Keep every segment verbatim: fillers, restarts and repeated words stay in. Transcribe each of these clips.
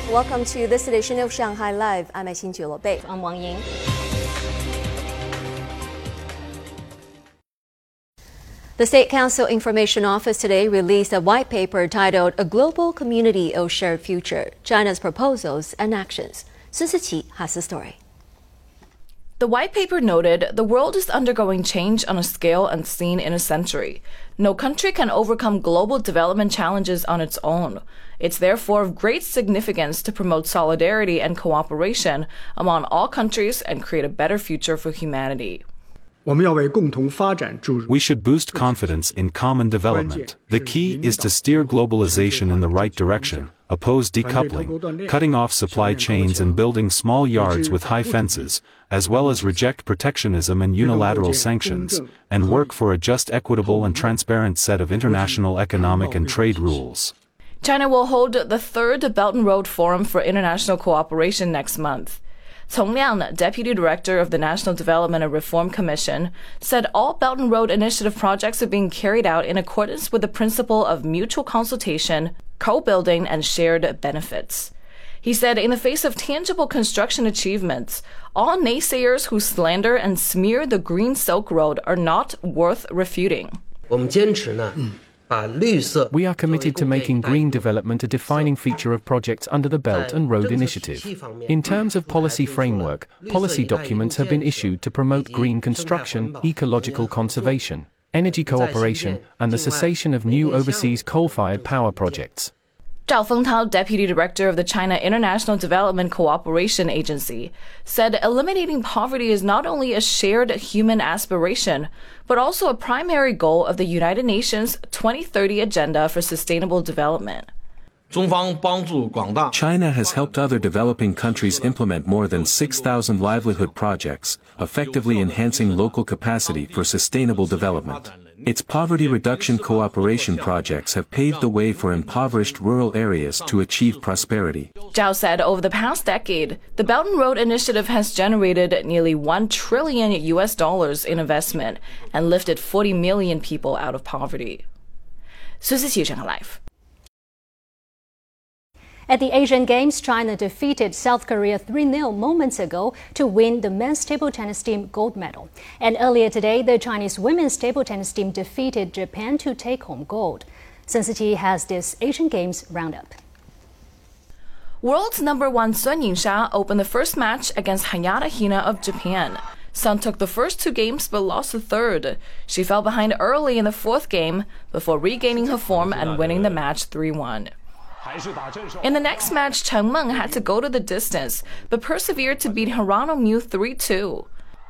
Welcome to this edition of Shanghai Live. I'm Xin Bei. I'm Wang Ying. The State Council Information Office today released a white paper titled A Global Community of Shared Future, China's Proposals and Actions. Sun Siqi has the story. The white paper noted the world is undergoing change on a scale unseen in a century. No country can overcome global development challenges on its own. It's therefore of great significance to promote solidarity and cooperation among all countries and create a better future for humanity. We should boost confidence in common development. The key is to steer globalization in the right direction, oppose decoupling, cutting off supply chains and building small yards with high fences, as well as reject protectionism and unilateral sanctions, and work for a just, equitable and transparent set of international economic and trade rules. China will hold the third Belt and Road Forum for International Cooperation next month. Cong Liang, Deputy Director of the National Development and Reform Commission, said all Belt and Road Initiative projects are being carried out in accordance with the principle of mutual consultation, co-building, and shared benefits. He said in the face of tangible construction achievements, all naysayers who slander and smear the Green Silk Road are not worth refuting. We are committed to making green development a defining feature of projects under the Belt and Road Initiative. In terms of policy framework, policy documents have been issued to promote green construction, ecological conservation, energy cooperation, and the cessation of new overseas coal-fired power projects. Zhao Fengtao, Deputy Director of the China International Development Cooperation Agency, said eliminating poverty is not only a shared human aspiration, but also a primary goal of the United Nations twenty thirty Agenda for Sustainable Development. China has helped other developing countries implement more than six thousand livelihood projects, effectively enhancing local capacity for sustainable development. Its poverty reduction cooperation projects have paved the way for impoverished rural areas to achieve prosperity. Zhao said over the past decade, the Belt and Road Initiative has generated nearly one trillion U S dollars in investment and lifted forty million people out of poverty. Sun Siqi, Shanghai Live. At the Asian Games, China defeated South Korea three nil moments ago to win the men's table tennis team gold medal. And earlier today, the Chinese women's table tennis team defeated Japan to take home gold. Sun Siqi has this Asian Games roundup. World's number one Sun Yingsha opened the first match against Hayata Hina of Japan. Sun took the first two games but lost the third. She fell behind early in the fourth game before regaining her form and winning the match three one. In the next match, Chen Meng had to go to the distance, but persevered to beat Hirano Miu three two.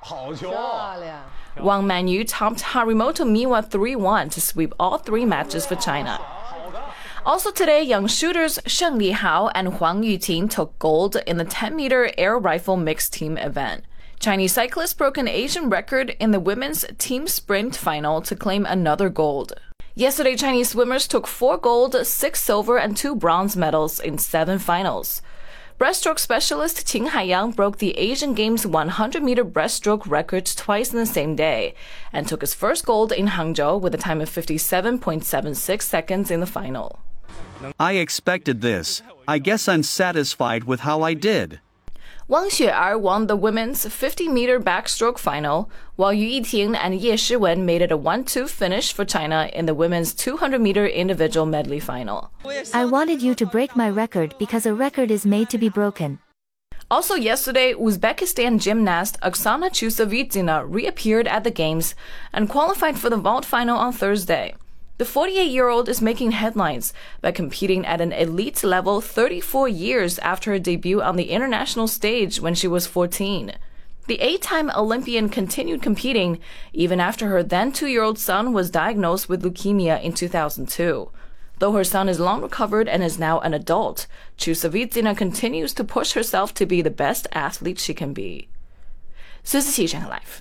Wang Manyu topped Harimoto Miwa three one to sweep all three matches for China. Also today, young shooters Sheng Lihao and Huang Yuting took gold in the ten meter air rifle mixed team event. Chinese cyclists broke an Asian record in the women's team sprint final to claim another gold. Yesterday, Chinese swimmers took four gold, six silver, and two bronze medals in seven finals. Breaststroke specialist Qin Haiyang broke the Asian Games one hundred meter breaststroke record twice in the same day and took his first gold in Hangzhou with a time of fifty-seven point seven six seconds in the final. I expected this. I guess I'm satisfied with how I did. Wang Xue'er won the women's fifty meter backstroke final, while Yu Yiting and Ye Shiwen made it a one two finish for China in the women's two hundred meter individual medley final. I wanted you to break my record because a record is made to be broken. Also yesterday, Uzbekistan gymnast Oksana Chusovitina reappeared at the Games and qualified for the vault final on Thursday. The forty-eight-year-old is making headlines by competing at an elite level thirty-four years after her debut on the international stage when she was fourteen. The eight-time Olympian continued competing even after her then two-year-old son was diagnosed with leukemia in two thousand two. Though her son is long recovered and is now an adult, Chusovitina continues to push herself to be the best athlete she can be. Sun Siqi, Shanghai Live.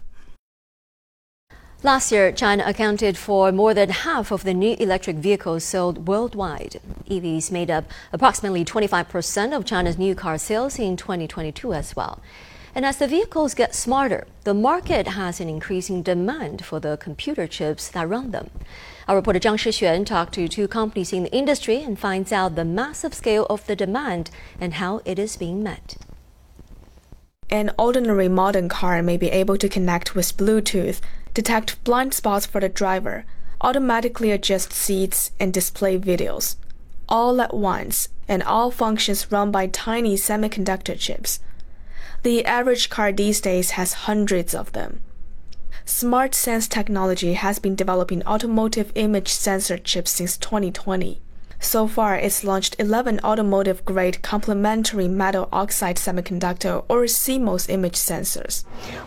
Last year, China accounted for more than half of the new electric vehicles sold worldwide. E Vs made up approximately twenty-five percent of China's new car sales in twenty twenty-two as well. And as the vehicles get smarter, the market has an increasing demand for the computer chips that run them. Our reporter Zhang Shixuan talked to two companies in the industry and finds out the massive scale of the demand and how it is being met. An ordinary modern car may be able to connect with Bluetooth, detect blind spots for the driver, automatically adjust seats, and display videos, all at once, and all functions run by tiny semiconductor chips. The average car these days has hundreds of them. Smart Sense technology has been developing automotive image sensor chips since twenty twenty. So far, it's launched eleven automotive-grade complementary metal oxide semiconductor or C M O S image sensors.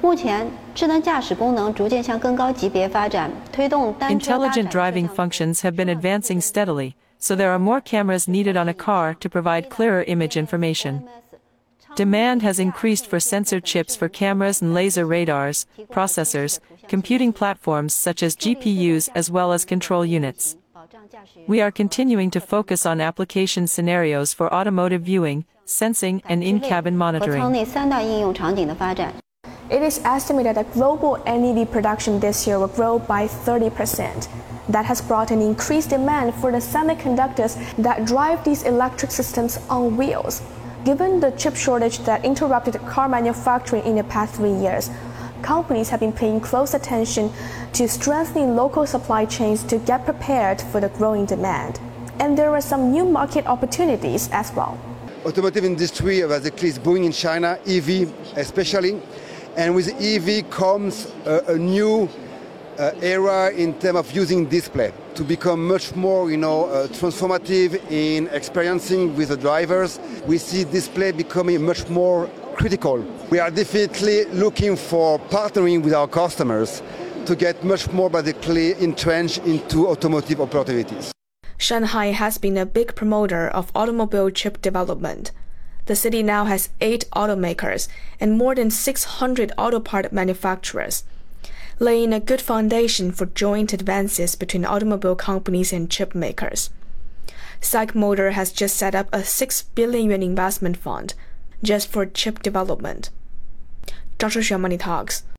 Intelligent driving functions have been advancing steadily, so there are more cameras needed on a car to provide clearer image information. Demand has increased for sensor chips for cameras and laser radars, processors, computing platforms such as G P Us as well as control units. We are continuing to focus on application scenarios for automotive viewing, sensing, and in-cabin monitoring. It is estimated that global N E V production this year will grow by thirty percent. That has brought an increased demand for the semiconductors that drive these electric systems on wheels. Given the chip shortage that interrupted car manufacturing in the past three years, companies have been paying close attention to strengthening local supply chains to get prepared for the growing demand. And there are some new market opportunities as well. Automotive industry basically is booming in China, E V especially, and with E V comes a, a new uh, era in terms of using display to become much more, you know, uh, transformative in experiencing with the drivers. We see display becoming much more critical. We are definitely looking for partnering with our customers to get much more basically entrenched into automotive opportunities. Shanghai has been a big promoter of automobile chip development. The city now has eight automakers and more than six hundred auto part manufacturers, laying a good foundation for joint advances between automobile companies and chip makers. SAIC Motor has just set up a six billion yuan investment fund just for chip development. Zhang Shixuan, Money Talks.